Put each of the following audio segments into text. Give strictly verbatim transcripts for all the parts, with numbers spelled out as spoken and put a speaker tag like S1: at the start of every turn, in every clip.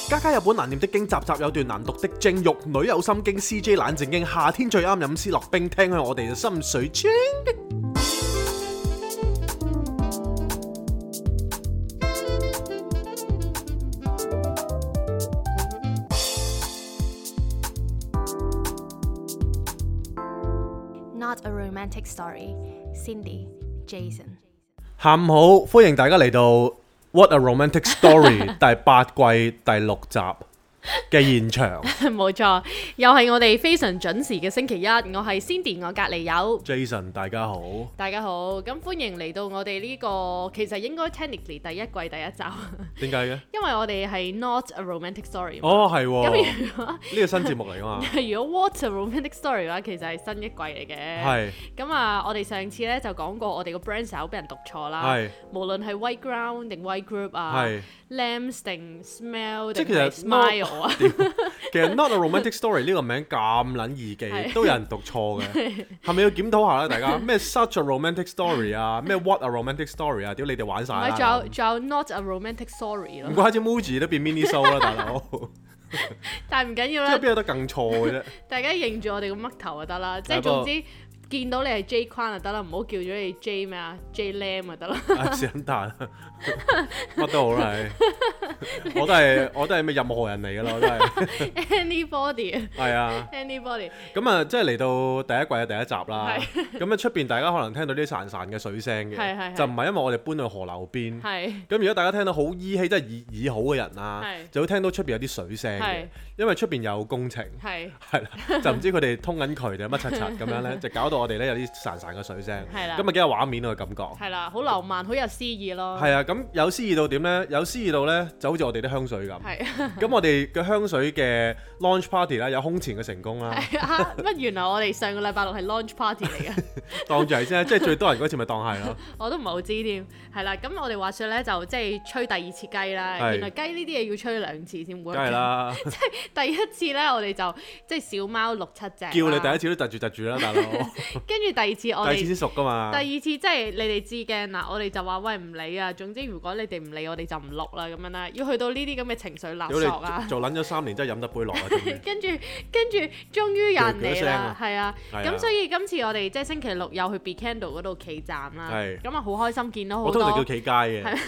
S1: 家家有本難念的經，集集有段難讀的經。玉女有心經 ，C J 懶正經。夏天最啱飲思樂冰，聽向我哋嘅心水清。
S2: Not a romantic story. Cindy, Jason。
S1: 下午好，歡迎大家嚟到 What a Romantic Story 第八季第六集嘅現場。
S2: 冇錯，又係我哋非常準時嘅星期一。我係 Cindy， 我隔離有
S1: Jason， 大家好。
S2: 大家好，咁歡迎嚟到我哋呢、這個其實應該 technically 第一季第一集。
S1: 點解嘅？因
S2: 為我哋係 Not a Romantic Story。
S1: 哦，係喎。
S2: 咁如果呢
S1: 個新節目嚟㗎嘛？
S2: 如果 What a Romantic Story 嘅話，其實係新一季嚟嘅。係。咁啊，我哋上次咧就講過我哋個 brand 手俾人讀錯啦。係。無論係 White Ground 定 White Group 啊。係。Lambs 定 Smell 定係 Smile 啊？
S1: 其實 Not a Romantic Story 呢個名咁撚易記，都有人讀錯嘅，係咪要檢討下咧？大家咩 Such a Romantic Story 啊，咩 What a Romantic Story 啊，屌你哋玩晒啦！
S2: 仲有仲有 Not a Romantic Story 咯。唔
S1: 怪之 Muji 都變 Mini Show 啦，大佬。
S2: 但係唔緊要啦。
S1: 即係邊有得更錯嘅啫？大
S2: 家認住我哋個嘜頭就得啦，即係總之。見到你係 J 框就得啦，唔好叫咗你 J 咩啊 J Lam 就得啦。啊，是咁大，乜都好啦，我都係我都係咩任何人嚟噶啦，我都係。Anybody。係啊。Anybody。咁啊，即係嚟到第一季嘅第一集啦。咁啊，出邊大家可能聽到啲潺潺嘅水聲嘅，就唔係因為我哋搬去河流邊。係。咁如果大家聽到好依稀，即係耳耳好嘅人啊，就會聽到出邊有啲水聲嘅，因為出邊有工程。係。係啦，就唔知佢哋通緊渠定乜柒柒咁樣咧，就搞到。我哋咧有啲潺潺嘅水聲，咁啊幾有畫面嘅感覺，係啦，好浪漫，好有詩意咯。係啊，咁有詩意到點咧？有詩意到咧，就好似我哋啲香水咁。係。咁我哋嘅香水嘅 launch party 啦，有空前嘅成功啦。係啊，乜原來我哋上個禮拜六係 launch party 嚟嘅？當住係先，即係最多人嗰次咪當係咯。我都唔係好知添。係啦，咁我哋話説咧就即係吹第二次雞啦。原來雞呢啲嘢要吹兩次先會。梗係啦。即係第一次咧，我哋就即係小貓六七隻。叫你第一次都窒住窒住啦，大佬。跟住第二次我哋第二次先熟㗎嘛。第二次即係你哋知嘅嗱，我哋就話喂唔理啊，總之如果你哋唔理我哋就唔錄啦咁樣啦。要去到呢啲咁嘅情緒勒索啊！做撚咗三年真係飲得杯落啊！跟住跟住終於有人嚟啦，係啊。咁所以今次我哋即係星期六又去 Be Candle 嗰度企站啦。係。咁啊好開心見到好多。我通常叫企街嘅。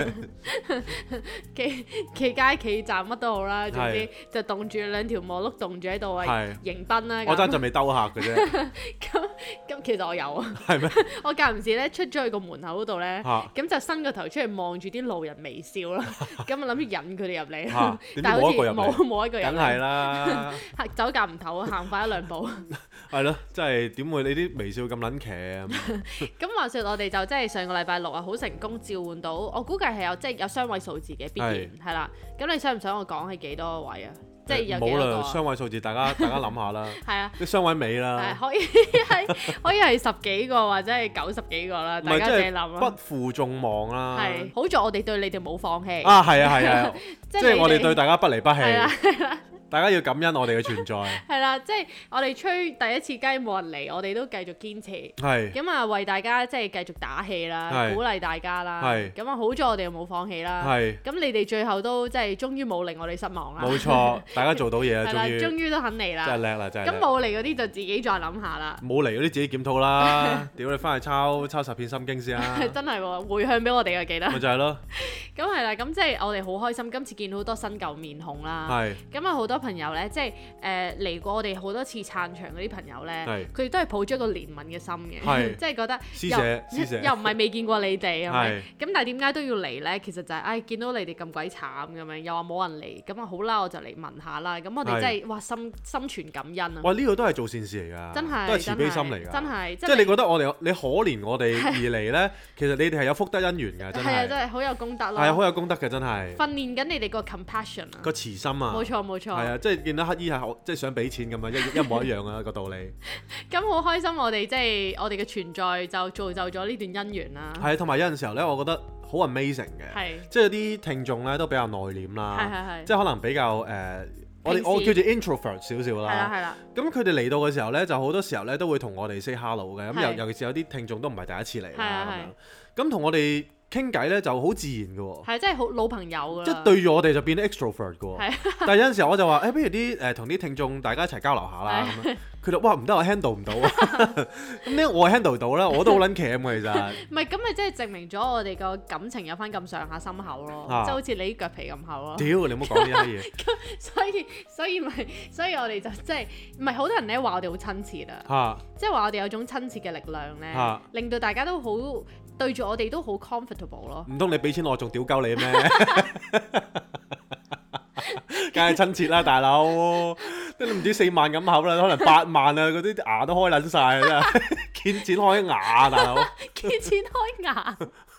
S2: 企企街企站乜都好啦，總之就棟住兩條毛碌棟住喺度啊，迎賓啦。我爭就未兜客嘅啫。咁咁其實我有啊，係咩？我間唔時咧出咗去個門口嗰度咧，咁就伸個頭出嚟望住啲路人微笑啦，咁啊諗住引佢哋入嚟，但係好似冇冇一個人，梗係啦，走夾唔唞，行快一兩步，係咯，真係點會你啲微笑咁撚騎啊？咁話説我哋就即係上個禮拜六啊，好成功召喚到，我估計係有即係有雙位數字嘅必然係啦。咁你想唔想我講係幾多位啊？即係有幾多個？冇啦，雙位數字，大家大家諗下啦。係啊，啲雙位尾啦。係可以係可以係十幾個或者係九十幾個啦，大家自己諗啦。不負眾望啦。係，好在我哋對你哋冇放棄。啊，係啊，係啊，即係我哋對大家不離不棄。係啦，係啦。大家要感恩我哋嘅存在。係啦，即係我哋吹第一次雞冇人嚟，我哋都繼續堅持。係。咁啊，為大家即係繼續打氣啦，鼓勵大家啦。係。咁啊，好在我哋又冇放棄啦。係。咁你哋最後都即係終於冇令我哋失望啦。冇錯，大家做到嘢啦，終於。終於都肯嚟啦。真係叻啦，真係。咁冇嚟嗰啲就自己再諗下啦。冇嚟嗰啲自己檢討啦。屌你翻去抄抄十篇心經先啦。真係喎，回向俾我哋啊，記得。咪就係咯。咁係啦，咁即係我哋好開心，今次見到好多新舊面孔啦。係。咁啊，好多朋友咧，即係誒嚟過我哋好多次撐場嗰啲朋友咧，佢哋都係抱咗一個憐憫嘅心嘅，即係覺得施捨施捨又唔係未見過你哋，係咪？咁但係點解都要嚟咧？其實就係唉，見到你哋咁鬼慘咁樣，又話冇人嚟，咁啊好啦，我就嚟問下啦。咁我哋真係哇心心存感恩啊！哇，呢個都係做善事嚟㗎，真係都係慈悲心嚟㗎，真係即係你覺得我哋你可憐我哋而嚟咧，其實你哋係有福德因緣㗎，真係係啊，真係好有功德咯，係啊，好有功德嘅真係訓練緊你哋個 compassion 啊，個慈心啊，冇錯冇錯，係啊，即係見到乞衣係好即係想俾錢咁樣一一模一樣啊個道理。咁好開心，我哋即係我哋嘅存在就造就咗呢段姻緣啦。係啊，同埋有陣時候咧，我覺得好 amazing 嘅，係即係有啲聽眾咧都比較內斂啦，係係係，即係可能比較誒。呃我哋我叫做 introvert 少少啦，係啦係啦。咁佢哋嚟到嘅時候咧，就好多時候咧都會同我哋 say hello 嘅。咁尤尤其是有啲聽眾都唔係第一次嚟啦，咁樣。咁同我哋
S1: 傾偈咧就好自然嘅喎。
S2: 係，即係好老朋友㗎。即
S1: 係對住我哋就變咗 extrovert 嘅喎。但係有陣時候我就話誒、欸，不如啲誒同啲聽眾大家一齊交流下啦咁樣。佢就哇唔得，我 handle 唔到啊。咁呢我 handle 到啦，我都好撚鉗嘅其實。唔係，
S2: 咁咪即係證明咗我哋個感情有翻咁上下深厚咯，即係、啊、好似你啲腳皮咁厚咯。屌，你唔好講呢啲嘢。所以所以咪所以我哋就即係唔係好多人咧話我哋好親切啊，即係話我哋有種親切嘅力量咧，啊、令到大家都好對住我哋都好 comfortable 咯。唔通你俾錢我仲屌鳩你咩？梗係親切啦，大佬，都唔知四萬咁口啦，可能八萬啊，嗰啲牙都開撚晒真係，見錢開牙啊，大佬，見錢開牙。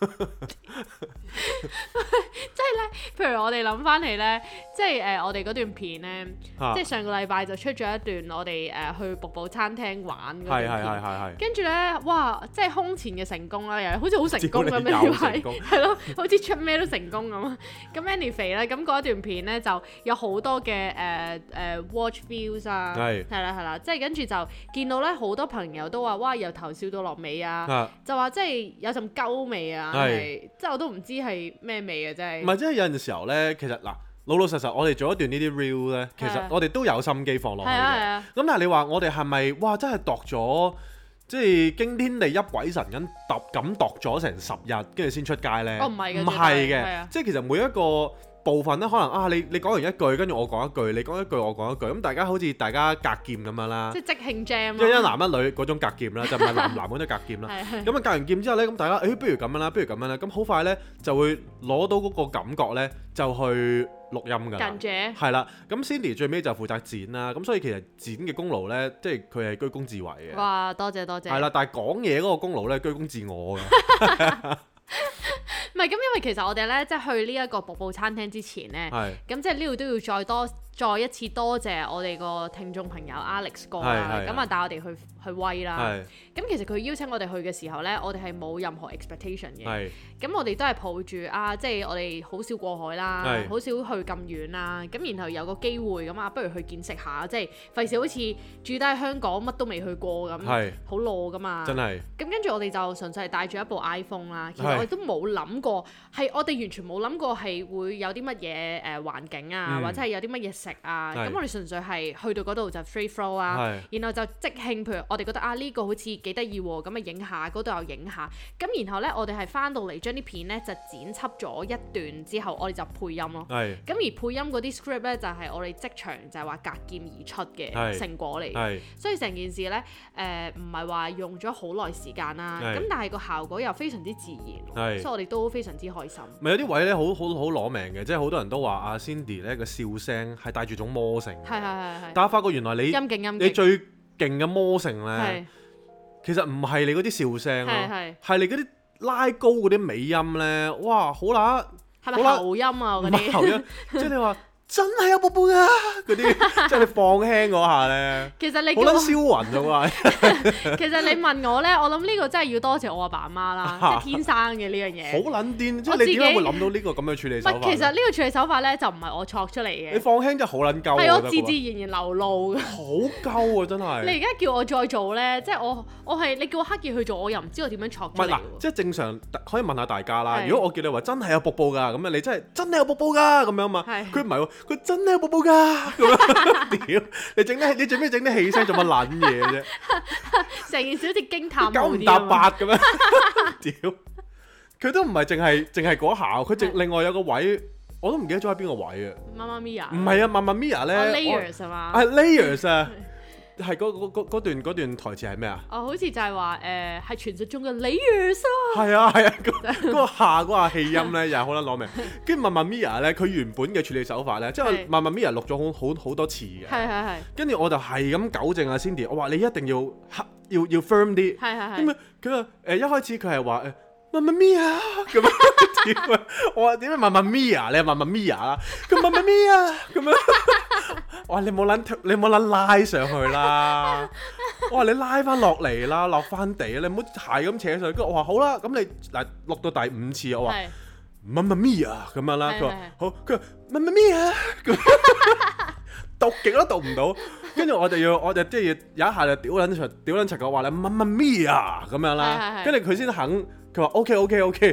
S2: 即係咧，譬如我哋諗翻起咧，即係誒、呃、我哋嗰段片咧，啊、即係上個禮拜就出咗一段我哋誒、呃、去瀑布餐廳玩嗰段片，跟住咧，哇！即係空前嘅成功啦，又好似好成功咁樣，係係咯，好似出咩都成功咁。咁 anyway 咧，咁嗰一段片咧就有好多嘅誒誒 watch views 啊，係係啦係啦，即係跟住就見到咧好多朋友都話哇由頭笑到落尾啊，啊就話即係有陣鳩味啊，係即係我都唔知係咩味啊，真係。唔係，即係有陣時候咧，其實嗱老老實實，我哋做一段呢啲 reel 咧，其實我哋都有心機放落去嘅。咁但係你話我哋係咪哇真係度咗，即係驚天地泣鬼神咁度咁度咗成十日，跟住先出街咧？哦，唔係嘅，唔係嘅，即係其實每一個部分咧，可能啊，你你講完一句，跟住我講一句，你講一句，我講一句，咁大家好似大家隔劍咁樣啦，即係即興 jam，即係一男一女嗰種隔劍啦，就唔係男男嗰種隔劍啦。咁啊隔完劍之後咧，咁大家誒不如咁樣啦，不如咁樣啦，咁好快咧就會攞到嗰個感覺咧，就去錄音㗎。近住係啦，咁 Cindy 最尾就負責剪啦，咁所以其實剪嘅功勞咧，即係佢係居功自偉嘅。哇！多謝多謝。係啦，但係講嘢嗰個功勞咧，居功自我㗎。唔係咁，因為其實我哋咧，即係去呢一個瀑布餐廳之前咧，咁是即係呢度都要再多再一次多謝我哋個聽眾朋友 Alex 哥啦，咁啊帶我哋去去威啦。咁是其實佢邀請我哋去嘅時候咧，我哋係冇任何 expectation 嘅。咁是我哋都係抱住啊，即係我哋好少過海啦，好是少去咁遠啦。咁然後有個機會咁啊，不如去見識下，即係費事好似住低喺香港乜都未去過咁，好攞噶嘛。真係。咁跟住我哋就純粹係帶住一部 iPhone 啦。其實我哋都冇諗過，係我哋完全冇諗過係會有啲乜嘢誒環境啊，嗯、或者係有啲乜嘢食啊。咁是我哋純粹係去到嗰度就 free flow 啦，是然後就即興，譬如我哋覺得啊呢、呢個好似幾得意喎，咁啊影下，嗰度又影下。咁然後咧，我哋係翻到嚟將啲片咧就剪輯咗一段之後，我哋就配音咯。咁是而配音嗰啲 script 咧就係、是、我哋即場就係話隔劍而出嘅成果嚟。是所以成件事咧誒唔係話用咗好耐時間啦，咁是但係個效果又非常之自然，是所以我哋都非常之開心。咪有啲位咧好好好攞命嘅，即係好多人都話阿 Cindy 咧個笑聲係帶住種魔性。係係係係。但係發覺原來你陰莖陰莖你最勁嘅魔性咧，是其實唔係你嗰啲笑聲咯，係你嗰啲拉高嗰啲尾音咧，哇好乸，係咪喉音啊嗰啲？喉音，即係你話。真係有瀑布㗎嗰啲，即係你放輕嗰下咧，其實你好撚銷魂㗎喎。其實你問我咧，我諗呢個真係要多謝我阿爸阿媽啦，即係天生嘅呢樣嘢。好撚癲，即係你點解會諗到呢個咁嘅處理手法？其實呢個處理手法咧就唔係我錯出嚟嘅。你放輕真係好撚鳩，係我自自然然流露嘅。好鳩啊！真係。你而家叫我再做咧，即係我我係你叫我刻意去做，我又唔知我點樣錯出嚟。唔係嗱，即係正常可以問下大家啦。如果我叫你話真係有瀑布㗎，咁啊你真係真係有瀑布㗎咁樣嘛？佢唔係喎。佢真係有瀑布㗎，咁樣屌！你整啲你最尾整啲氣聲做乜撚嘢啫？成件事好似驚歎九唔搭八咁樣，屌！佢都唔係淨係淨係嗰下，佢淨另外有個位，我都唔記得咗喺邊個位啊！媽媽咪呀？唔係啊，媽媽咪呀咧，layers 係嘛？係 layers 啊！係嗰段嗰段台詞係咩啊？哦，好似就係話誒，係傳説中嘅 layers 啊！係啊係啊，嗰個下嗰下氣音咧又係好撚攞命。跟住 Mamma Mia 咧，佢原本嘅處理手法咧，即係 Mamma Mia 錄咗好好好多次嘅。係係係。跟住我就係咁糾正阿 Cindy，我話你一定要要要 firm 啲。係係係。咁啊，佢話誒一開始佢係話誒 Mamma Mia 咁樣點啊？我話點解 Mamma Mia？你係 Mamma Mia 啦，佢 Mamma Mia 咁樣。我話你冇撚你冇撚拉上去啦！我話你拉翻落嚟啦，落翻地，你唔好係咁扯上去。跟住我話好啦，咁你嗱錄到第五次，我話 Mamma Mia 咁樣啦。佢話好，佢話 Mamma Mia 咁，讀極都讀唔到。跟住我就要，我就即係有一下就屌撚屌撚柒我話你 Mamma Mia 咁樣啦。跟住佢先肯，佢話 OK OK OK。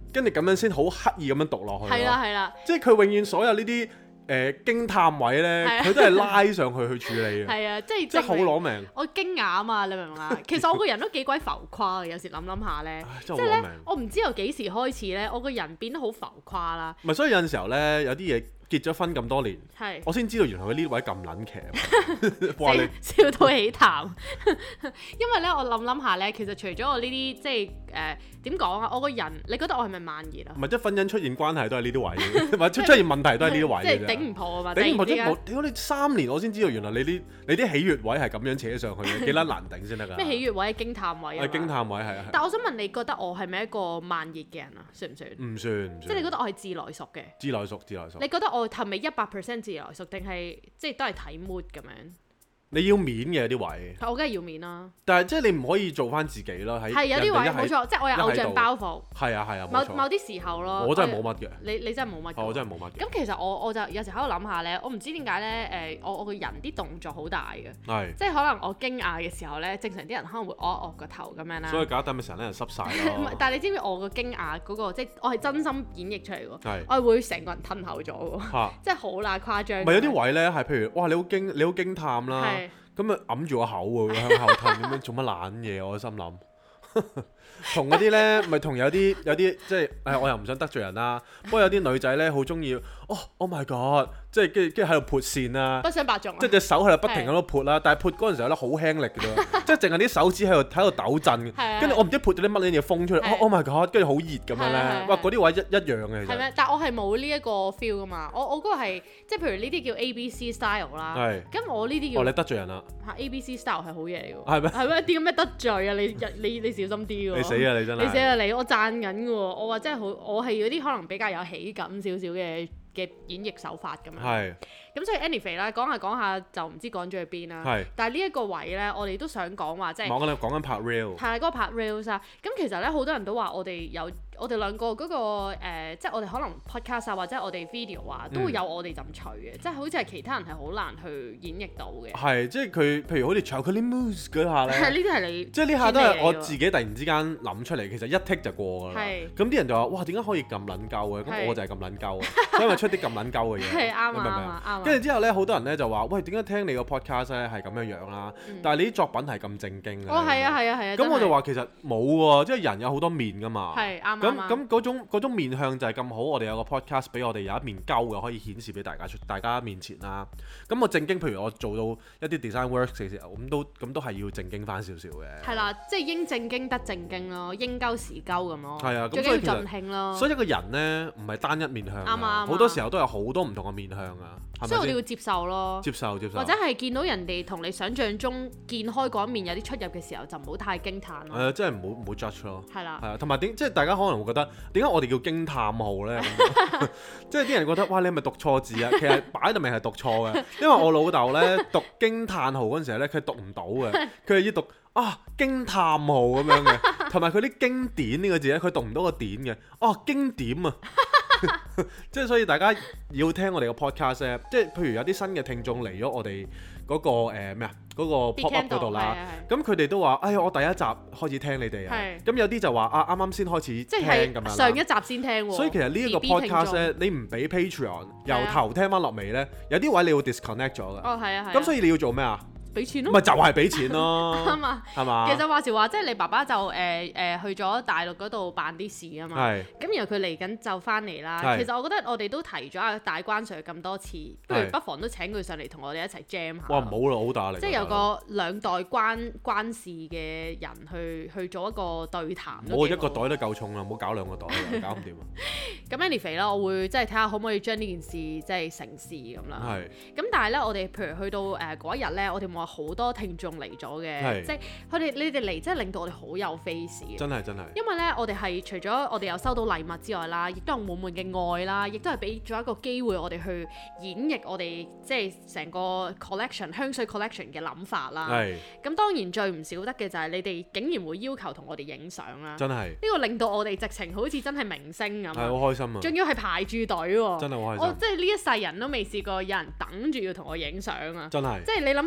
S1: 跟住咁樣先好刻意咁樣讀落去。
S2: 係啦係啦，
S1: 即係佢永遠所有呢啲誒驚歎位咧，佢都係拉上去去處理嘅。係啊，即係即係好攞命。我驚訝啊嘛，你明唔明啊？其實我個人都幾鬼浮誇嘅，有時諗諗下咧，即係咧，我唔知由幾時開始咧，我個人變得好浮誇啦。唔係，所以有陣時候咧，有啲嘢。結咗婚咁多年，是我先知道原來佢呢位咁撚騎，哇你笑到起痰。因為咧，我諗諗下咧，其實除咗我呢啲即係誒點講啊，我個人你覺得我係咪慢熱啊？唔係，即係婚姻出現關係都係呢啲位嘅，或者出現問題都係呢啲位嘅。即係頂唔破啊嘛！頂唔破即係我屌你三年，我先知道原來你啲你啲喜悅位係咁樣扯上去嘅，幾撚難頂先得㗎？咩喜悅位？驚歎位啊！係驚歎位係啊！但我想問你覺得我係咪一個慢熱嘅人啊？算唔算？唔算唔算。即係你覺得我係自來熟嘅？自來熟自來熟。你覺得我？我係咪一百 percent 自來熟定係即係都係睇 mood 咁樣？你要面嘅啲位，我梗係要面啦。但係即係你唔可以做翻自己咯，喺係有啲位冇錯，即係我有偶像包袱。係啊係啊，某某啲時候咯。我真係冇乜嘅。你你真係冇乜。我真係冇乜。咁其實我我就有時喺度諗下咧，我唔知點解咧誒，我我個人啲動作好大嘅。係。即係可能我驚訝嘅時候咧，正常啲人可能會惡惡個頭咁樣啦。所以搞到咪成日咧濕晒咯。唔係，但係你知唔知我個驚訝嗰個即係我係真心演繹出嚟喎。係。我係會成個人褪後咗喎。嚇！即係好乸誇張。唔係有啲位咧係譬如哇你好驚你好驚歎啦。係。咁咪揞住個口喎，向後褪咁樣做乜懶嘢？我心諗，同嗰啲咧，咪同有啲有啲即係誒，我又唔想得罪人啦。不過有啲女仔咧，好中意哦 ，Oh my God！即係跟住跟住喺度撥線啦，不想白撞，即係隻手喺度不停喺度撥啦。但係撥嗰陣時候咧好輕力嘅啫，即係淨係啲手指喺度喺度抖震。跟住我唔知撥咗啲乜嘢風出嚟，Oh my God！跟住好熱咁樣咧，哇！嗰啲位一一樣嘅其實。係咩？但係我係冇呢一個 feel 噶嘛。我我嗰個係即係譬如呢啲叫 A B C style 啦。係。咁我呢啲叫哦，你得罪人啦。嚇 A B C style 係好嘢嚟㗎。係咩？係咩？啲咁咩得罪啊？你你你小心啲喎。你死啊！你真係。你死啊！你我讚緊㗎喎，我話真係好，我係嗰啲可能比較有喜感少少嘅。嘅演繹手法咁樣，係咁所以 anyway 啦，講下講下就唔知講咗去邊啦。係，但係呢一個位咧，我哋都想講話即係講緊講緊拍 real，係嗰個拍 reels 啊。咁其實咧好多人都話我哋有我哋兩個嗰個誒，即係我哋可能 podcast 啊或者我哋 video 啊都會有我哋陣趣嘅，即係好似係其他人係好難去演繹到嘅。係，即係佢譬如好似 chocolate mousse 嗰下咧，係呢啲係你，即係呢下都係我自己突然之間諗出嚟，其實一剔就過㗎啦。係，咁啲人就話哇點解可以咁撚鳩嘅？咁我就係咁撚鳩，所以咪出啲咁撚鳩嘅嘢。係啱啊啱啊，跟住之後咧，好多人咧就話喂點解聽你個 podcast 咧係咁樣樣啦？但係你啲作品係咁正經嘅。哦係啊係啊係啊。咁我就話其實冇喎，即係人有好多面㗎嘛。係啱。咁咁嗰種嗰種面向就係咁好，我哋有個 podcast 俾我哋有一面鳩嘅可以顯示俾大家出大家面前啦。咁我正經，譬如我做到一啲 design work 嘅時候，咁都咁都係要正經翻少少嘅。係啦，即係應正經得正經咯，應鳩時鳩咁咯。係啊，咁所以盡興咯。所以一個人咧唔係單一面向，啱啊，好多時候都有好多唔同嘅面向啊。所以我哋要接受咯，接受接受。或者係見到人哋同你想象中見開嗰一面有啲出入嘅時候，就唔好太驚歎咯。係啊，即係唔好唔好 judge 咯。係啦，係啊，同埋點即係大家可能會覺得點解我哋叫驚歎號咧？即係啲人覺得哇，你係咪讀錯字啊？其實擺到明係讀錯嘅，因為我老豆咧讀驚歎號嗰陣時咧，佢讀唔到嘅，佢係要讀啊驚歎號咁樣嘅，同埋佢啲經典呢個字咧，佢讀唔到個典嘅，哦經典啊！即係所以大家要聽我哋個 podcast 咧，即係譬如有啲新嘅聽眾嚟咗我哋嗰個誒咩啊嗰個 pop up 嗰度啦，咁佢哋都話：哎呀，我第一集開始聽你哋啊，咁有啲就話啊，啱啱先開始聽咁樣，上一集先聽喎。所以其實呢一個 podcast 咧，你唔俾 Patreon 由頭聽翻落尾咧，有啲位你會 disconnect 咗嘅。哦，係啊，係。咁所以你要做咩啊？俾錢咯，咪就係俾錢咯，啱嘛，係嘛？其實話時話，即係你爸爸就誒誒去咗大陸嗰度辦啲事啊嘛，咁然後佢嚟緊就翻嚟啦。其實我覺得我哋都提咗阿大關 Sir 咁多次，不如不妨都請佢上嚟同我哋一齊 jam 下。哇，唔好啦，好打嚟。即係有個兩代關關事嘅人去去做一個對談。我一個袋都夠重啦，唔好搞兩個袋，搞唔掂啊！咁 anyway 啦，我會即係睇下可唔可以將呢件事即係成事咁啦。係。咁但係咧，我哋譬如去到誒嗰一日咧，我哋話好多聽眾嚟咗嘅，即係佢哋你哋嚟，真係令到我哋好有 face 嘅。真係真係。因為咧，我哋係除咗我哋有收到禮物之外啦，亦都有滿滿嘅愛啦，亦都係俾咗一個機會我哋去演繹我哋即係成個 collection 香水 collection 嘅諗法啦。係。咁當然最唔少得嘅就係你哋竟然會要求同我哋影相啦。真係。呢個令到我哋直情好似真係明星咁。係好開心啊！仲要係排住隊喎。真係好開心。我即係呢一世人都未試過有人等住要同我影相啊！真係。即係你諗下平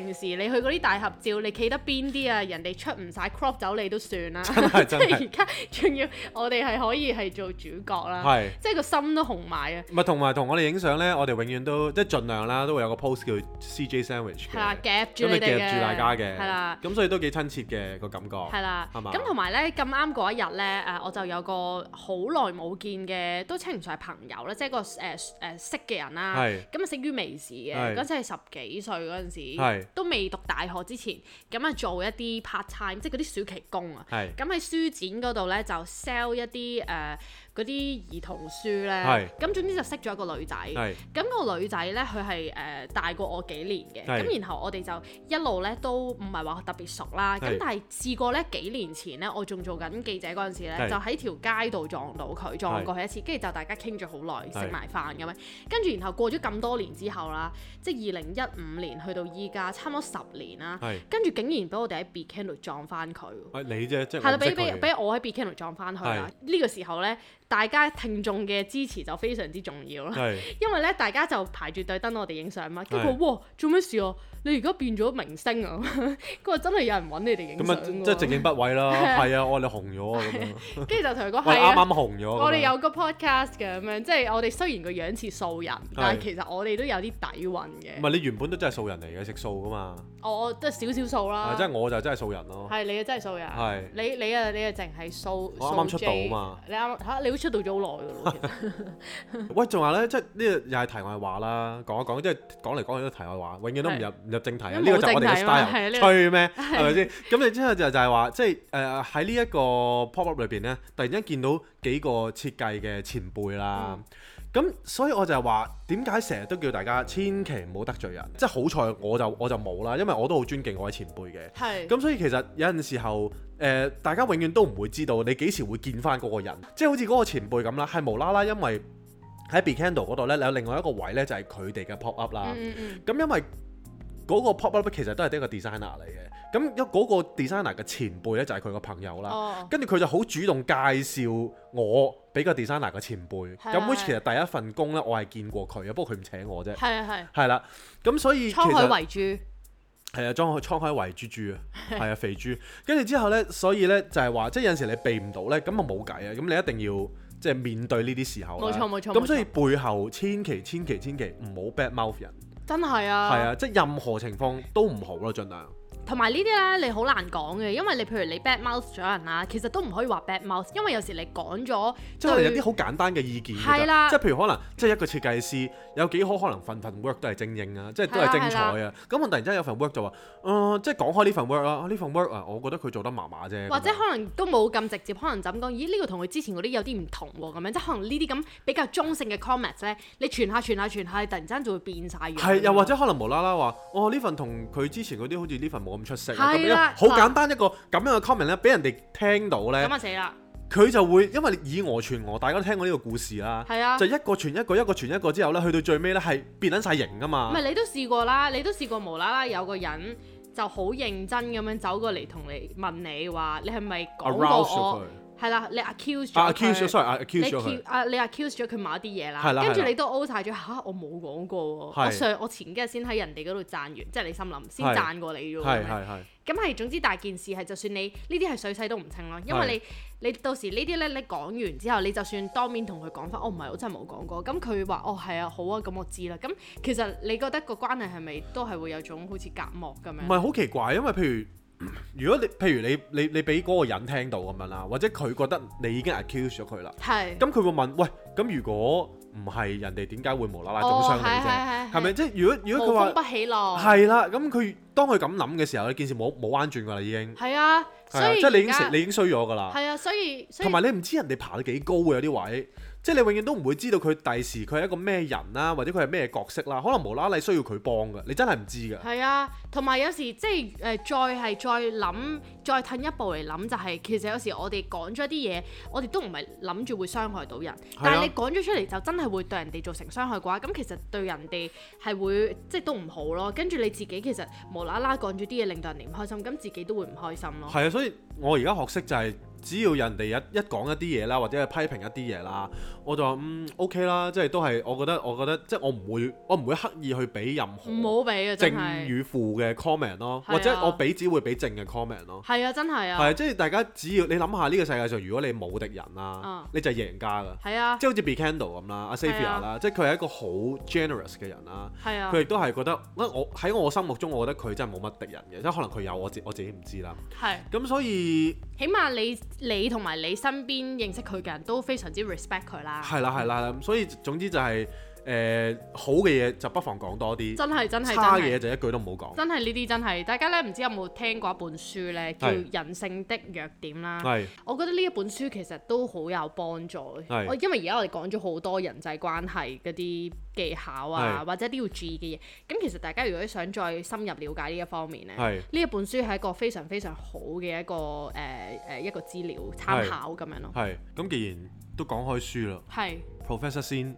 S2: 平時你去嗰啲大合照，你企得邊啲啊？人哋出唔晒 crop 走你都算啦，
S1: 真係真係。
S2: 即係而家仲要我哋係可以係做主角啦，係即係個心都紅埋啊！
S1: 唔係同埋同我哋影相咧，我哋永遠都即係盡量啦，都會有個 pose 叫 C J Sandwich 嘅，
S2: 係啦，夾住你哋嘅，
S1: 咁咪夾住大家嘅，
S2: 係啦，
S1: 咁所以都幾親切嘅個感覺，
S2: 係啦，
S1: 係嘛？
S2: 咁同埋咧咁啱嗰一日咧誒，我就有個好耐冇見嘅，都稱唔上係朋友啦，即係個誒誒、呃、識嘅人啦，咁啊識於微時嘅，嗰陣係十幾歲嗰陣時，都未讀大學之前，咁啊做一啲 part time，即係嗰啲暑期工啊，咁喺書展嗰度咧就 sell 一啲誒。呃嗰啲兒童書咧，咁總之就識咗一個女仔，咁個女仔咧佢係誒大過我幾年嘅，咁然後我哋就一路咧都唔係話特別熟啦，咁但係試過咧幾年前咧，我仲做緊記者嗰陣時咧，就喺條街度撞到佢，撞過去一次，跟住就大家傾咗好耐，食埋飯咁樣，跟住然後過咗咁多年之後啦，即係二零一五年去到依家，差唔多十年啦，跟住竟然俾我哋喺 Beacon 度撞翻佢，
S1: 你啫，即係
S2: 係啦，俾俾俾我喺 Beacon 度撞翻佢啦，呢個時候咧。大家聽眾嘅支持就非常之重要啦，因為咧大家就排住隊等我哋影相嘛，跟住佢哇做咩事啊？你而家變咗明星啊！佢話真係有人揾你哋影相喎，
S1: 咁即係直認不諱啦，係啊，我哋紅咗啊咁樣，
S2: 跟住就同佢講係啊，
S1: 啱啱紅咗，
S2: 我哋有個 podcast 嘅咁樣，即係我哋雖然個樣似素人，但係其實我哋都有啲底蘊嘅。
S1: 唔係你原本都真係素人嚟嘅，食素噶嘛？
S2: 我都係少少素啦，
S1: 即係我就真係素人咯。
S2: 係你啊，真係素人。係你你啊你啊，淨係素。
S1: 我啱啱出道啊嘛。
S2: 你啱嚇，你都出道咗好耐㗎咯。其實。
S1: 喂，仲話咧，即係呢個又係題外話啦，講一講，即係講嚟講去都題外話，永遠都唔入唔入正題啊！呢個就我哋嘅 style，吹咩？係咪先？咁你之後就就係話，即係誒喺呢一個 pop up 裏邊咧，突然間見到幾個設計嘅前輩啦。咁、嗯、所以我就係話，點解成日都叫大家千祈唔好得罪人？即係好彩我就我就冇啦，因為我都好尊敬我位前輩嘅。係是。咁所以其實有陣時候，誒、呃、大家永遠都唔會知道你幾時會見翻嗰個人，即係好似嗰個前輩咁啦，係無啦啦因為喺 Becandle 嗰度咧，有另外一個位咧就係佢哋嘅 pop up 啦。咁、嗯嗯、因為嗰個 pop up 其實都係一個 designer 嚟嘅，咁一嗰個 designer 嘅前輩咧就係佢個朋友啦，跟住佢就好主動介紹我俾個 designer 嘅前輩，咁 which 其實第一份工咧我係見過佢嘅，不過佢唔請我啫，係啊係，係啦，咁所以其實滄海遺珠，係啊，滄海滄海遺珠珠啊，係啊肥豬，跟住之後咧，所以咧就係話，即係有陣時你避唔到咧，咁啊冇計啊，咁你一定要即係面對呢啲時候，冇錯冇錯，咁所以背後千祈千祈千祈唔好 bad mouth 人。真係啊！係啊，即係任何情況都唔好咯，盡量。同埋呢啲咧，你好難講嘅，因為你譬如你 bad mouth 咗人啦，其實都唔可以話 bad mouth，因為有時你講咗，即係有啲好簡單嘅意見。係啦，即係譬如可能，即係一個設計師有幾可可能份份 work 都係精英啊，即係都係精彩啊。咁我突然之間有份 work 就話，誒，即係講開呢份 work 啦，呢份 work 啊，我覺得佢做得麻麻啫。或者可能都冇咁直接，可能就咁講，咦？呢個同佢之前嗰啲有啲唔同喎，咁樣即係可能呢啲咁比較中性嘅 comments 咧，你傳下傳下傳下，突然之間就會變晒樣。係，又或者可能無啦啦話，哦，呢份同佢之前嗰啲好似呢份冇咁出色。好簡單一個咁樣嘅 comment 咧，俾人哋聽到咧，咁啊死啦！佢就會因為以訛傳訛，大家都聽過呢個故事啦，係啊，就一個傳一個，一個傳一個之後咧，去到最尾咧係變緊晒型噶嘛。唔係你都試過啦，你都試過無啦啦有個人就好認真咁樣走過嚟同你問你話，你係咪講過我？係啦，你 accuse 咗佢。accuse 咗，sorry，accuse 咗佢。啊，你 accuse 咗佢某一啲嘢啦，跟住你都 O 晒咗嚇，我冇講過喎。我上我前幾日先喺人哋嗰度讚完，即係你心諗先讚過你啫喎。係係係。咁係總之大件事係，就算你呢啲係水洗都唔清咯，因為你你到時呢啲咧，你講完之後，你就算當面同佢講翻，哦唔係，我真係冇講過。咁佢話，哦係啊，好啊，咁我知啦。咁其實你覺得個關係係咪都係會有種好似隔膜咁樣？唔係好奇怪，因為譬如。如果你譬如你你你俾嗰個人聽到咁樣啦，或者佢覺得你已經 accuse 咗佢啦，係，咁佢會問，喂，咁如果唔係人哋點解會無啦啦中傷你啫？係咪？即係如果如果佢話無風不起浪，係啦，咁佢當佢咁諗嘅時候咧，件事冇冇彎轉㗎啦已經。係啊，所以即係你已經食你已經衰咗㗎啦。係啊，所以同埋你唔知人哋爬得幾高嘅有啲位。即係你永遠都唔會知道佢第時佢係一個咩人啦，或者佢係咩角色啦，可能無啦啦需要佢幫㗎，你真係唔知㗎。係啊，同埋有，有時即係誒、呃、再係再諗，再退一步嚟諗就係、是，其實有時我哋講咗啲嘢，我哋都唔係諗住會傷害到人，啊、但係你講咗出嚟就真係會對人哋造成傷害嘅話，咁其實對人哋係會即係都唔好咯。跟住你自己其實無啦啦講咗啲嘢令到人哋唔開心，咁自己都會唔開心咯。係啊，所以我而家學識就係只要人哋一一講一啲嘢啦，或者係批評一啲嘢啦，我就話嗯 OK 啦，即係都係我覺得我覺得即係我唔會我唔會刻意去俾任何正與負嘅 comment 咯，或者我俾只會俾正嘅 comment 咯。係啊，真係啊。係啊，即係大家只要你諗下呢個世界上，如果你冇敵人啦，你就係贏家㗎。係啊，即係好似 Becandle 咁啦，阿 Xavier 啦，即係佢係一個好 generous 嘅人啦。係啊，佢亦都係覺得，我喺我心目中，我覺得佢真係冇乜敵人嘅，即係可能佢有我自我自己唔知啦。係。咁所以，起碼你你同埋你身邊認識佢嘅人都非常之 respect 佢啦。係啦係啦，所以總之就係、是。誒、呃、好嘅嘢就不妨講多啲，真係真係差嘅嘢就一句都唔好講。真係呢啲真係，大家咧唔知有冇聽過一本書咧，叫《人性的弱點》啦。係，我覺得呢一本書其實都好有幫助。係，我因為而家我哋講咗好多人際關係嗰啲技巧啊，或者啲要注意嘅嘢。咁其實大家如果想再深入了解呢一方面咧，呢一本書係一個非常非常好嘅一個誒誒、呃、一個資料參考咁樣咯。係，咁既然都講開書啦，係 Professor Sin。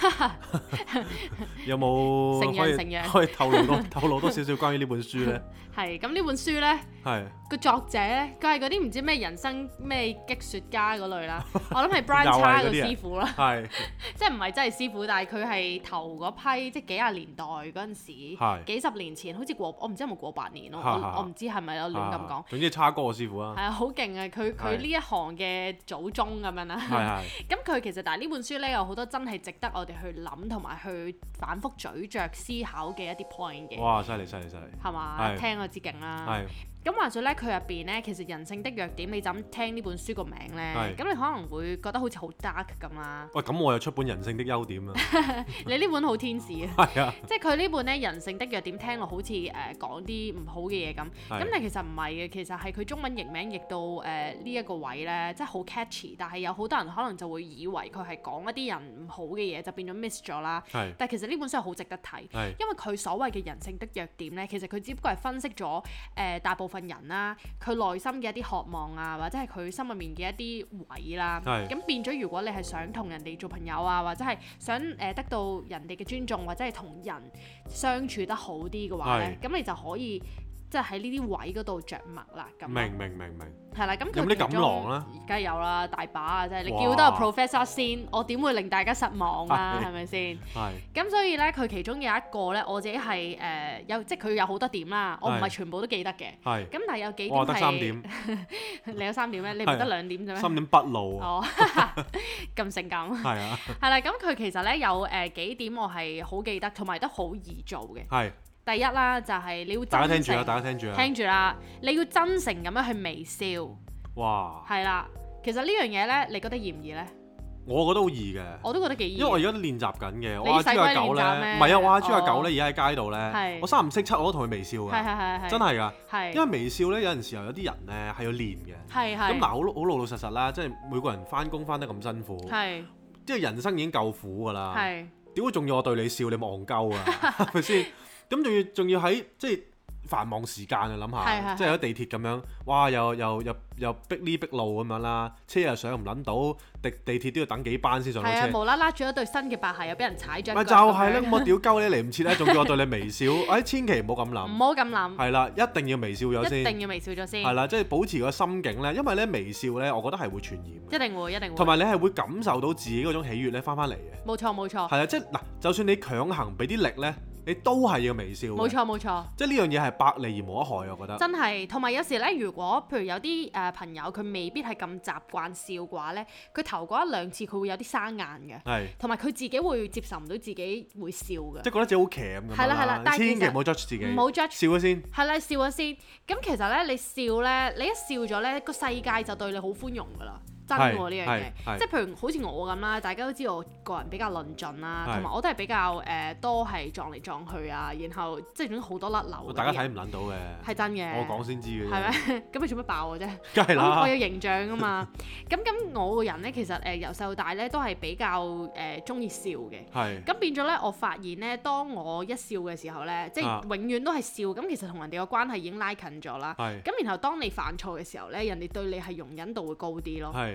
S1: 有冇可以可以透露多透露多少少關於呢本書呢？係咁呢本書呢，係個作者呢，佢係嗰啲唔知咩人生咩擊雪家嗰類啦。我諗係 Brian Cha 個師傅啦，係即係唔係真係師傅，但係佢係頭嗰批即係幾廿年代嗰陣時，幾十年前好似過我唔知有冇過百年咯，我唔知係咪有亂咁講。總之差哥個師傅啊，係啊，好勁啊！佢佢呢一行嘅祖宗咁樣啦。係咁佢其實但係呢本書呢，有好多真係值得我哋去諗同埋去反覆咀嚼思考嘅一啲 point 嘅。哇！犀利犀利犀利，係嘛？聽我知勁啦。係。咁話說咧，佢入邊咧，其實人性的弱點，你就咁聽呢本書個名咧，咁你可能會覺得好似好 dark 咁啦。喂，咁我又出本人性的優點啊！你呢本好天使啊！係啊，即係佢呢本咧人性的弱點，聽落好似誒講啲唔好嘅嘢咁，咁但係其實唔係嘅，其實係佢中文譯名譯到誒呢一個位咧，即係好 catchy，但係有好多人可能就會以為佢係講一啲人唔好嘅嘢，就變咗 miss 咗啦。係，但係其實呢本書係好值得睇，因為佢所謂嘅人性的弱點咧，其實佢只不過係分析咗誒大部份人啦，佢內心嘅一啲渴望啊，或者係佢心入面嘅一啲位啦，咁是變咗如果你係想同人哋做朋友啊，或者係想誒得到人哋嘅尊重，或者係同人相處得好啲嘅話咧，咁是你就可以即係喺呢啲位嗰度着墨啦。咁明明明明。係啦，咁佢有冇啲錦囊啦？梗係有啦，大把啊！即係你叫得個 Professor Sin，我點會令大家失望啊？係咪先？係。咁所以咧，佢其中有一個咧，我自己係誒有，即係佢有好多點啦，我唔係全部都記得嘅。係。咁但係有幾點係？我得三點。你有三點咩？你唔得兩點啫咩？三點不露。哦，咁性感。係啊。係啦，咁佢其實咧有誒幾點我係好記得，同埋都好易做嘅。係。第一啦，就係你要真誠。大家聽住啦，大家聽住啦。聽住啦，你要真誠咁樣去微笑。哇！係啦，其實呢樣嘢咧，你覺得易唔易咧？我覺得好易嘅。我都覺得幾易。因為我而家練習緊嘅，我阿豬阿狗咧，唔係啊，我阿豬阿狗咧，而家喺街度咧，我三唔識七我都同佢微笑㗎。係係係係。真係㗎。係。因為微笑咧，有陣時候有啲人咧係要練嘅。係係。咁嗱，好好老老實實啦，即係每個人翻工翻得咁辛苦。係。即係人生已經夠苦㗎啦。係。點會仲要我對你笑？你戇鳩啊？係咪先？咁仲要仲要喺即係繁忙時間啊！諗下，即係喺地鐵咁樣，哇！又又又又逼呢逼路咁樣啦，車又上唔撚到，地地鐵都要等幾班先上到車。係啊，無啦啦著咗對新嘅白鞋，又俾人踩咗。咪就係咧，我屌鳩你嚟唔切咧，仲叫我對你微笑，哎，千祈唔好咁諗。唔好咁諗。係啦，一定要微笑咗先。一定要微笑咗先。係啦，即係保持個心境咧，因為咧微笑咧，我覺得係會傳染。一定會，一定會。同埋你係會感受到自己嗰種喜悅咧，翻翻嚟嘅。冇錯，冇錯。係啊，即係嗱，就算你強行俾啲力咧。你都係要微笑。冇錯冇錯，即係呢樣嘢係百利而無一害，我覺得。真係，同埋有時咧，如果譬如有啲誒、呃、朋友佢未必係咁習慣笑嘅話咧，佢頭嗰一兩次佢會有啲生硬嘅。係是。同埋佢自己會接受唔到自己會笑嘅。即係覺得自己好鉗咁。係啦係啦，但係千祈唔好 judge 自己。唔好 judge。笑咗先。係啦，笑咗先。咁其實咧，你笑咧，你一笑咗咧，個世界就對你好寬容㗎啦。真喎呢樣嘢，即係譬如好似我咁啦，大家都知道我個人比較論盡啦，同埋我都係比較誒多係撞嚟撞去啊，然後即係總之好多甩漏。大家睇唔撚到嘅，係真嘅。我講先知嘅。係咩？咁你做乜爆我啫？梗係啦。我有形象㗎嘛。咁咁我個人咧，其實誒由細到大咧都係比較誒中意笑嘅。係。咁變咗咧，我發現咧，當我一笑嘅時候咧，即係永遠都係笑。咁其實同人哋個關係已經拉近咗啦。係。咁然後當你犯錯嘅時候咧，人哋對你係容忍度會高啲咯。係。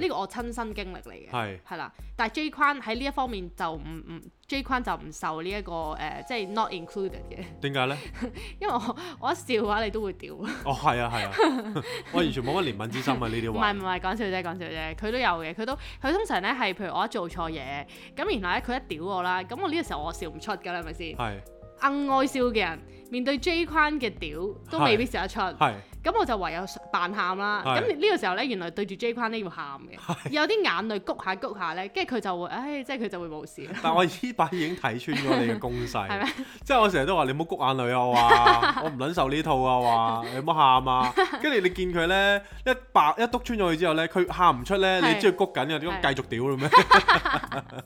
S2: 呢個我親身經歷嚟嘅，係係啦。但係 J 框喺呢一方面就唔唔 J 框就唔受呢、這、一個誒、呃，即係 not included 嘅。點解咧？因為我我一笑嘅話，你都會屌。哦，係啊係啊，我完全冇乜憐憫之心啊呢啲話。唔係唔係講笑啫講笑啫，佢都有嘅，佢都佢通常咧係譬如我一做錯嘢，咁然後咧佢一屌我啦，咁我呢個時候我笑唔出㗎啦，係咪先？係。硬愛笑嘅人面對 J 框嘅屌都未必笑得出，咁我就唯有扮喊啦。咁呢個時候咧，原來對住 J 框咧要喊嘅，有啲眼淚谷下谷下咧，跟住佢就會，唉，即係佢就會冇事。但我依把已經睇穿咗你嘅攻勢，係咩？即係我成日都話你唔好谷眼淚啊，我話我唔撚受呢套啊，話你唔好喊啊。跟住你見佢咧一白一篤穿咗佢之後咧，佢喊唔出咧，你知佢谷緊嘅，點解繼續屌啦咩？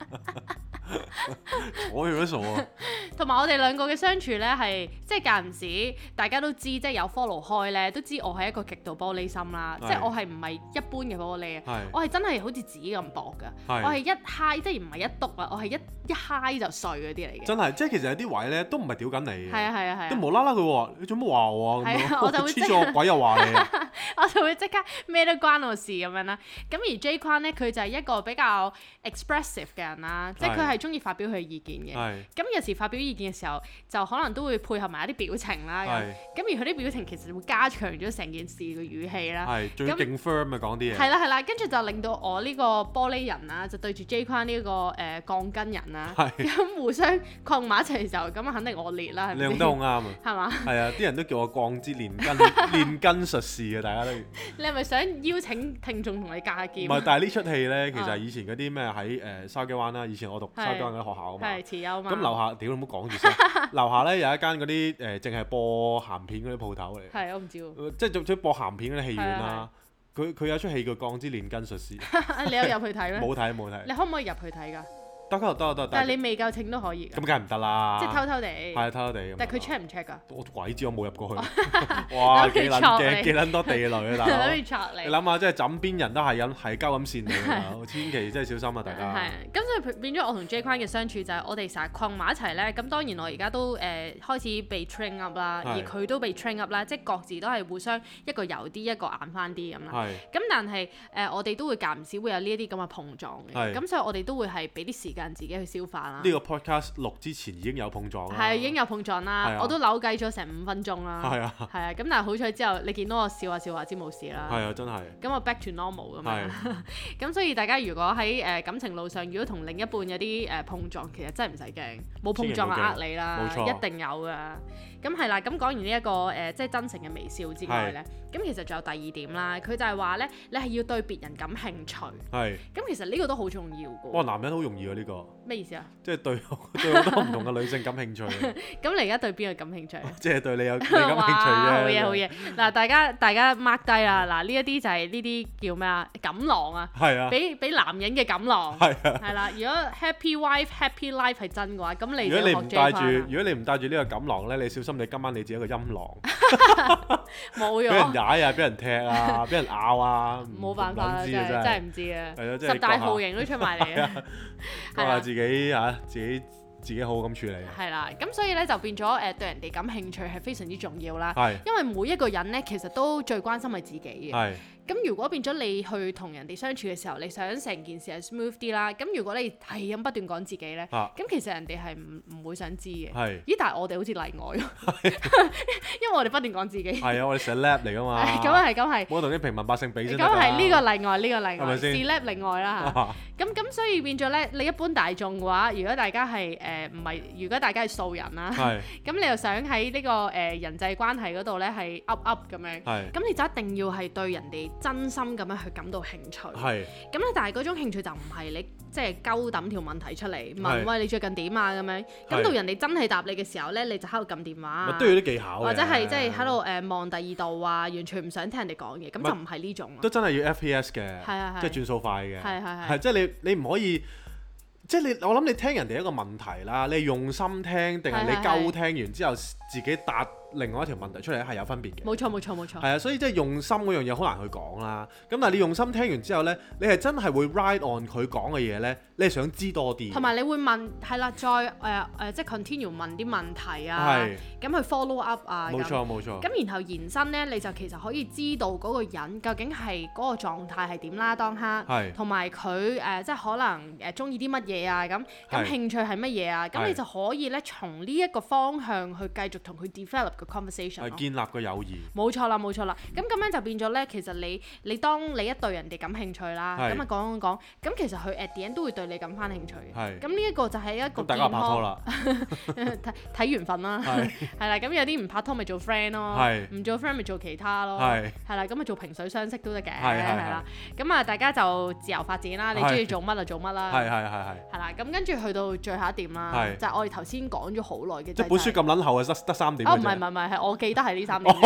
S2: 我有乜傻啊？同埋我哋兩個嘅相處咧，係即係間唔時，大家都知，即係有 follow 開咧，都知我係一個極度玻璃心啦。即係我係唔係一般嘅玻璃啊？我係真係好似紙咁薄㗎。我係一嗨，即係唔係一篤啊？我係一一嗨就碎嗰啲嚟嘅。真係，即係其實有啲位咧都唔係屌緊你嘅。係啊係啊係啊！都無啦啦佢話：你做乜話我啊？係啊，我就會黐咗鬼又話你。我就會即刻咩都關我事咁樣啦。咁而 J 框咧，佢就係一個比較 expressive 嘅人啦，即係佢係中意發表佢嘅意見嘅。咁有時發表意見嘅時候，就可能都會配合埋一啲表情啦。咁而佢啲表情其實會加強咗成件事嘅語氣啦。係，仲要勁 firm 啊講啲嘢。係啦係啦，跟住就令到我呢個玻璃人啦，就對住 J 框呢個誒鋼筋人啦，咁互相困埋一齊嘅時候，咁啊肯定惡劣啦。你用得好啱啊。係嘛？係啊，啲人都叫我鋼之煉金煉金術士嘅，大家都。你係咪想邀請聽眾同你架劍？唔係，但係呢出戲咧，其實以前嗰啲咩喺誒筲箕灣啦，以前我讀筲箕灣嗰啲學校啊嘛。係慈幼嘛。咁樓下屌你唔好講住先，樓下咧有一間嗰啲誒淨係播鹹片嗰啲鋪頭嚟。係，我唔知喎。即係做做播鹹片嗰啲戲院啦。佢佢有出戲叫《鋼之煉金術士》。你有入去睇咩？冇睇冇睇。你可唔可以入去睇㗎？得得得得，但係你未夠稱都可以。咁梗係唔得啦。即係偷偷地。係偷偷地。但係佢 check 唔 check 㗎？我鬼知，我冇入過去。哇！幾撚嘅幾撚多地雷啊！大佬。諗住戳你。你諗下，即係枕邊人都係咁係鳩咁線你㗎，千祈真係小心啊！大家。係。咁所以變咗我同 J 框嘅相處就係我哋成日困埋一齊咧。咁當然我而家都誒開始被 train up 啦，而佢都被 train up 啦，即係各自都係互相一個柔啲，一個硬翻啲咁啦。係。咁但係誒我哋都會間唔時會有呢一啲咁嘅碰撞嘅。係。咁所以我哋都會係俾啲時間自己去消化啦。呢個 podcast 錄之前已經有碰撞啦。係已經有碰撞啦，我都扭計咗成五分鐘啦。係啊。係啊，咁但係好彩之後你見到我笑下笑下知冇事啦。係啊，真係。咁我 back to normal 咁樣。咁所以大家如果喺誒感情路上，如果同另一半有啲誒碰撞，其實真係唔使驚，冇碰撞就呃你啦，冇錯，一定有㗎。咁係啦，咁講完呢一個誒即係真誠嘅微笑之外咧，咁其實仲有第二點啦，佢就係話咧，你係要對別人感興趣。係。咁其實呢個都好重要㗎。哇，男人好容易啊呢個。咩意思啊？即係對對好多唔同嘅女性感興趣。咁你而家對邊個感興趣？即係對你有你感興趣啫。好嘢好嘢。嗱，大家大家 mark 低啦。嗱，呢一啲就係呢啲叫咩啊？錦囊啊。係啊。俾俾男人嘅錦囊。係啊。係啦，如果 happy wife happy life 係真嘅話，咁你就學 J 框。如果你唔帶住，如果你唔帶住呢個錦囊咧，你小心你今晚你自己一個陰囊。冇用。俾人踩啊！俾人踢啊！俾人咬啊！冇辦法啦，真係真係唔知啊。係咯，即係十大酷刑都出埋嚟啊！講下自己嚇，自己自己好好咁處理。係啦，咁所以咧就變咗誒對人哋感興趣係非常之重要啦。係。因為每一個人咧其實都最關心係自己嘅。係。咁如果變咗你去同人哋相處嘅時候，你想成件事係 smooth 啲啦。咁如果你係咁不斷講自己咧，咁其實人哋係唔唔會想知嘅。係。咦？但係我哋好似例外咯。因為我哋不斷講自己。係啊，我哋成 lab 嚟㗎嘛。咁啊係，咁係。冇同啲平民百姓比先得㗎。咁係呢個例外，呢個例外。是 lab 例外啦嚇。咁咁所以變咗咧，你一般大眾嘅話，如果大家係誒唔係，如果大家係素人啦，咁你又想喺呢個誒人際關係嗰度咧係 up up 咁樣，咁你就一定要係對人哋真心咁樣去感到興趣。係。咁咧，但係嗰種興趣就唔係你即係鳩抌條問題出嚟問喂你最近點啊咁樣。咁到人哋真係答你嘅時候咧，你就喺度撳電話。都要啲技巧。或者係即係喺度誒望第二度啊，完全唔想聽人哋講嘢，咁就唔係呢種。都真係要 F P S 嘅，即係轉數快嘅。係係係。即係你你唔可以，即係你我諗你聽人哋一個問題啦，你用心聽定係你鳩聽完之後自己答
S1: 另外一條問題出嚟係有分別嘅。
S2: 冇錯冇錯冇錯。
S1: 係啊，所以即係用心嗰樣嘢好難去講啦。咁但係你用心聽完之後咧，你係真係會 ride on 佢講嘅嘢咧，你係想知多啲。同
S2: 埋你會問係啦，再誒誒、呃呃、即係 continue 問啲問題啊，咁去 follow up 啊。冇錯冇錯。咁然後延伸咧，你就其實可以知道嗰個人究竟係嗰個狀態係點啦，當刻，同埋佢誒即係可能誒中意啲乜嘢啊，咁咁興趣係乜嘢啊，咁你就可以咧從呢一個方向去繼續同佢 develop 個 conversation，係建立個友誼。冇錯啦冇錯啦，咁咁樣就變咗咧，其實你你當你一對人哋感興趣啦，咁啊講講講，咁其實佢 at the end 都會對你感翻興趣嘅。咁呢一個就係一個健康。大家拍拖啦，睇睇緣分啦，係啦，咁有啲唔拍拖咪做 friend 咯，唔做 friend 咪做其他咯，係啦，咁咪做萍水相識都得嘅，係啦，咁啊大家就自由發展啦，你中意做乜就做乜啦，係係係係，係啦，咁跟住去到最後一點啦，就係我哋頭先講咗好耐嘅，即係本書咁撚厚啊，得得三點。哦唔係唔係唔係，係我記得係呢三點，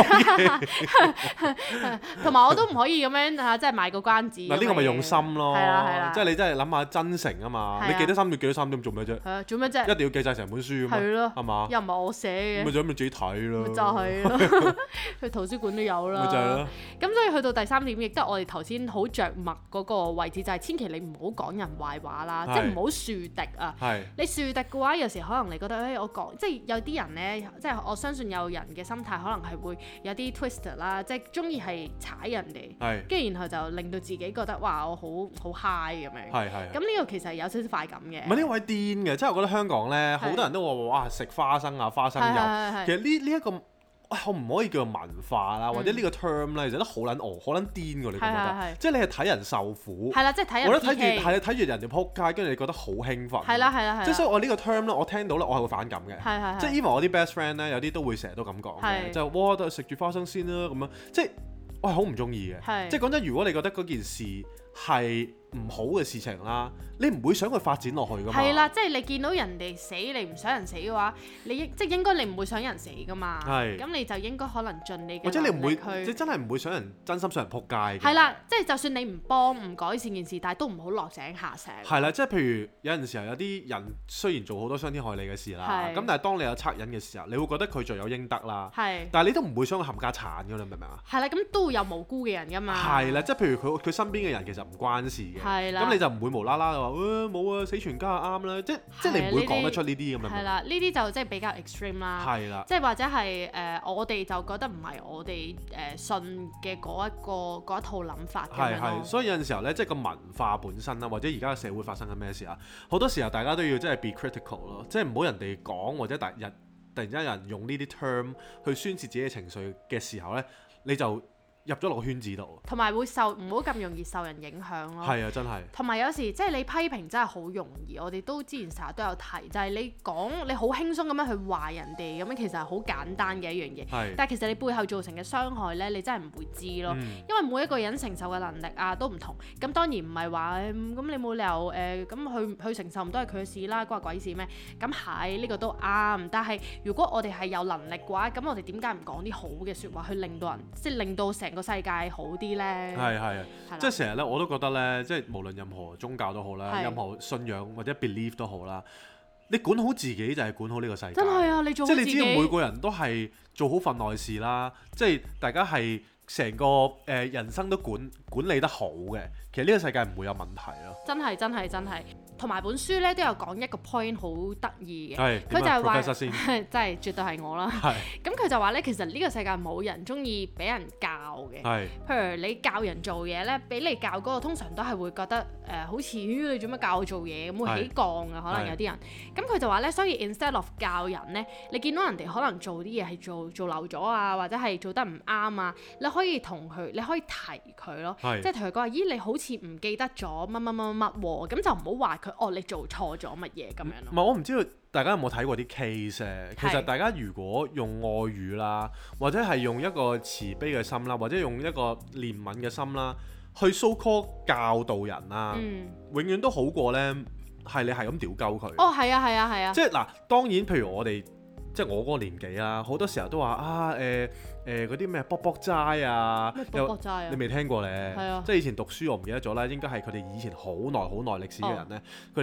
S2: 同埋我都唔可以咁樣嚇，即係賣個關子。嗱呢個咪用心咯，係啦係啦，即係你真係諗下真誠啊嘛，你記得三點記得三點做咩啫？係啊，做咩啫？一定要記晒成本書啊嘛，係咯，係嘛？又唔係我寫嘅，咪就咁咪自己睇咯，就係咯，去圖書館都有啦，咪就係咯。咁所以去到第三點，亦都係我哋頭先好着墨嗰個位置，就係千祈你唔好講人壞話啦，即係唔好樹敵啊。係你樹敵嘅話，有時可能你覺得誒我講，即係有啲人咧，即係我相信有人嘅心態可能係會有啲 twisted 啦，即係中意係踩人哋，跟住然後就令到自己覺得哇我好好 high 咁樣。係係。咁呢個其實有少少快感嘅。唔係呢位癲嘅，即係我覺得香港咧好多人都話哇食花生啊花生油，其實呢呢一個。可唔可以叫做文化啦，或者呢個 term 咧，其實都好撚戇，好撚癲㗎，你覺唔覺得？即係你係睇人受苦，係啦，即係睇人。我覺得睇住係你睇住人哋撲街，跟住你覺得好興奮。係啦係啦係。即係所以我呢個 term 咧，我聽到咧，我係會反感嘅。係係係。即係 even 我啲 best friend 咧，有啲都會成日都咁講嘅，就哇都係食住花生先啦咁樣，即係我係好唔中意嘅。即係講真，如果你覺得嗰件事係唔好嘅事情啦，你唔會想佢發展落去噶嘛？係啦，即係你見到人哋死，你唔想人死嘅話，你即係應該你唔會想人死噶嘛？係。咁你就應該可能盡你嘅能力去。或者你唔會，即係真係唔會想人真心想人撲街。係啦，即係就算你唔幫唔改善件事，但係都唔好落井下石。係啦，即係譬如有陣時候有啲人雖然做好多傷天害理嘅事啦，咁但係當你有惻隱嘅時候，你會覺得佢罪有應得啦。係。但係你都唔會想佢冚家鏟㗎，你明唔明啊？係啦，咁都會有無辜嘅人㗎嘛。係啦，即係譬如佢佢身邊嘅人其實唔關事嘅。係啦，咁你就唔會無啦啦就話誒冇啊，死全家啊啱啦，即即係你唔會講得出呢啲咁樣。係啦，呢啲就即係比較 extreme 啦。係啦，即係或者係誒我哋就覺得唔係我哋誒信嘅嗰一個嗰一套諗法咁樣咯。係係，所以有陣時候咧，即係個文化本身啦，或者而家嘅社會發生緊咩事啊，好多時候大家都要即係 be critical 咯，即係唔好人哋講或者突然突然之間有人用呢啲 term 去宣洩自己嘅情緒嘅時候咧，你就入咗落個圈子度，同埋會受唔好咁容易受人影響咯。係啊，真係。同埋有，有時即係你批評真係好容易，我哋都之前成日都有提，就係、是、你講你好輕鬆咁樣去話人哋咁樣，其實係好簡單嘅一樣嘢。係。但係其實你背後造成嘅傷害咧，你真係唔會知咯。嗯、因為每一個人承受嘅能力啊都唔同。咁當然唔係話咁你冇理由誒咁去去承受唔都係佢嘅事啦，關鬼事咩？咁係呢個都啱。但係如果我哋係有能力嘅話，咁我哋點解唔講啲好嘅説話去令到人，即係令到成個世界好啲咧？係係啊，即係成日咧，我都覺得咧，即係無論任何宗教都好啦，任何信仰或者 belief 都好啦，你管好自己就係管好呢個世界。真係啊，你做好自己。即係你只要每個人都係做好份內事啦，即係大家係成個誒、呃、人生都管管理得好嘅，其實呢個世界唔會有問題咯。真係真係真係。同埋本書咧都有講一個 point 好得意嘅，佢就係話，真係絕對係我啦。咁佢就話咧，其實呢個世界冇人中意俾人教嘅。係。譬如你教人做嘢咧，俾你教嗰個通常都係會覺得誒、呃，好似你做乜教我做嘢咁會起槓啊，可能有啲人。咁佢就話咧，所以 instead of 教人咧，你見到人哋可能做啲嘢係做做漏咗啊，或者係做得唔啱啊，你可以同佢，你可以提佢咯，即係同佢講話，咦，你好似唔記得咗乜乜乜乜喎，咁就唔好話佢哦，你做錯咗乜嘢咁樣咯。唔係，我唔知道大家有冇睇過啲 case 誒，其實大家如果用愛語啦，或者係用一個慈悲嘅心啦，或者用一個憐憫嘅心啦，去 so call 教導人啦，嗯、永遠都好過咧，係你係咁屌鳩佢。哦，係啊，係啊，係啊。即係嗱，當然，譬如我哋。即係我嗰個年紀啦，好多時候都話啊誒誒嗰啲咩卜卜齋啊，咩卜卜齋啊，你未聽過咧？係啊，即係以前讀書我唔記得咗啦，應該係佢哋以前好耐好耐歷史嘅人咧，佢哋、啊、一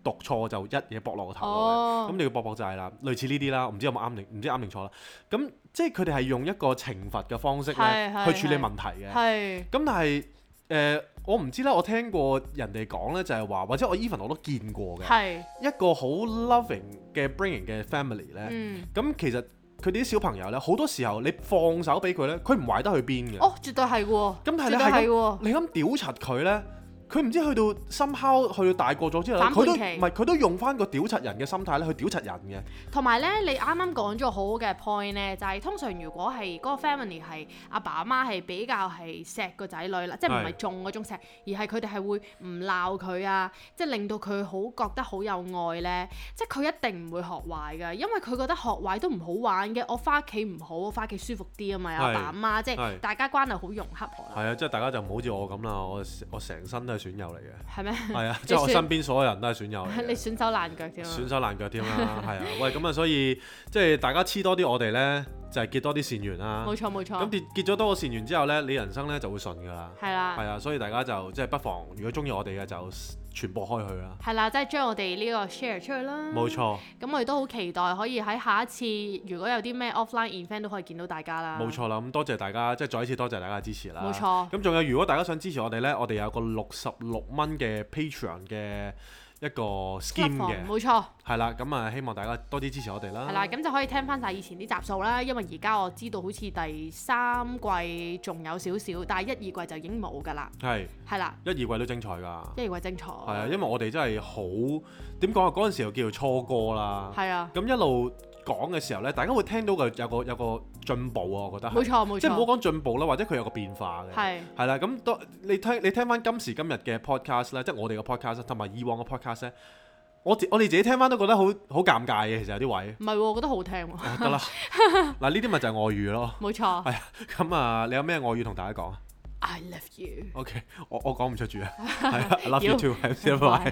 S1: 讀錯就一嘢駁落個頭度嘅，咁、oh. 你要駁駁掣啦，類似呢啲啦，唔知有冇啱定唔知啱定錯啦。咁即係佢哋係用一個懲罰嘅方式咧去處理問題嘅。咁但係誒、呃，我唔知啦，我聽過人哋講咧，就係話，或者我 even 我都見過嘅，一個好 loving 嘅 bringing 嘅 family 咧。咁、嗯、其實佢哋啲小朋友咧，好多時候你放手俾佢咧，佢唔壞得去邊嘅。哦，絕對係喎。咁但係你係你咁屌柒佢咧？佢唔知去到深烤，去到大個咗之後，佢都唔係佢都用翻個屌柒人嘅心態咧去屌柒人嘅。同埋咧，你啱啱講咗好好嘅 point 咧，就係、是、通常如果係嗰個 family 係阿爸阿媽係比較係錫個仔女啦，即係唔係縱嗰種錫，而係佢哋係會唔鬧佢啊，即係令到佢好覺得好有愛咧，即係佢一定唔會學壞㗎，因為佢覺得學壞都唔好玩嘅。我翻屋企唔好，我翻屋企舒服啲啊嘛，阿爸阿媽即係大家關係好融洽。係啊，即係大家就唔好似我咁啦，我我成身都係損友嚟嘅。係咩？係啊，即係我身邊所有人都係損友嚟嘅。你損手爛腳添啊！損手爛腳添啦，係啊，喂，咁啊，所以即係大家黐多啲我哋咧，就係結多啲善緣啦。冇錯冇錯。咁結結咗多個善緣之後咧，你人生咧就會順㗎啦。係啦。係啊，所以大家就即係不妨，如果中意我哋嘅就傳播開去啦。係啦，即係將我哋呢個 share 出去啦。冇錯。咁我哋都好期待可以喺下一次，如果有啲咩 offline event 都可以見到大家啦。冇錯啦，咁多謝大家，即係再一次多謝大家嘅支持啦。冇錯。咁仲有，如果大家想支持我哋咧，我哋有個六十六蚊嘅 Patreon 嘅一個 scheme 嘅，冇錯。係啦，咁啊希望大家多啲支持我哋啦。係啦，咁就可以聽翻晒以前啲集數啦，因為而家我知道好似第三季仲有少少，但係一二季就已經冇㗎啦。係。係啦。一二季都精彩㗎。一二季精彩。係啊，因為我哋真係好點講啊，嗰陣時候叫做初哥啦。係啊。咁一路講嘅時候咧，大家會聽到嘅有個有個進步啊，我覺得冇錯冇錯，即係唔好講進步啦，或者佢有個變化嘅，係係啦。咁當你聽你聽翻今時今日嘅 podcast 咧，即係我哋嘅 podcast 同埋以往嘅 podcast 咧，我我哋自己聽翻都覺得好好尷尬嘅，其實有啲位唔係喎，我覺得好聽喎。得啦，嗱呢啲咪就係外語咯，冇錯。係啊，咁啊，你有咩外語同大家講啊 ？I love you。OK， 我我講唔出住啊，係啊，I love you too，係拜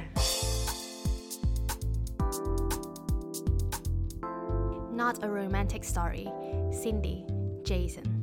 S1: 拜。Not a romantic story. Cindy, Jason.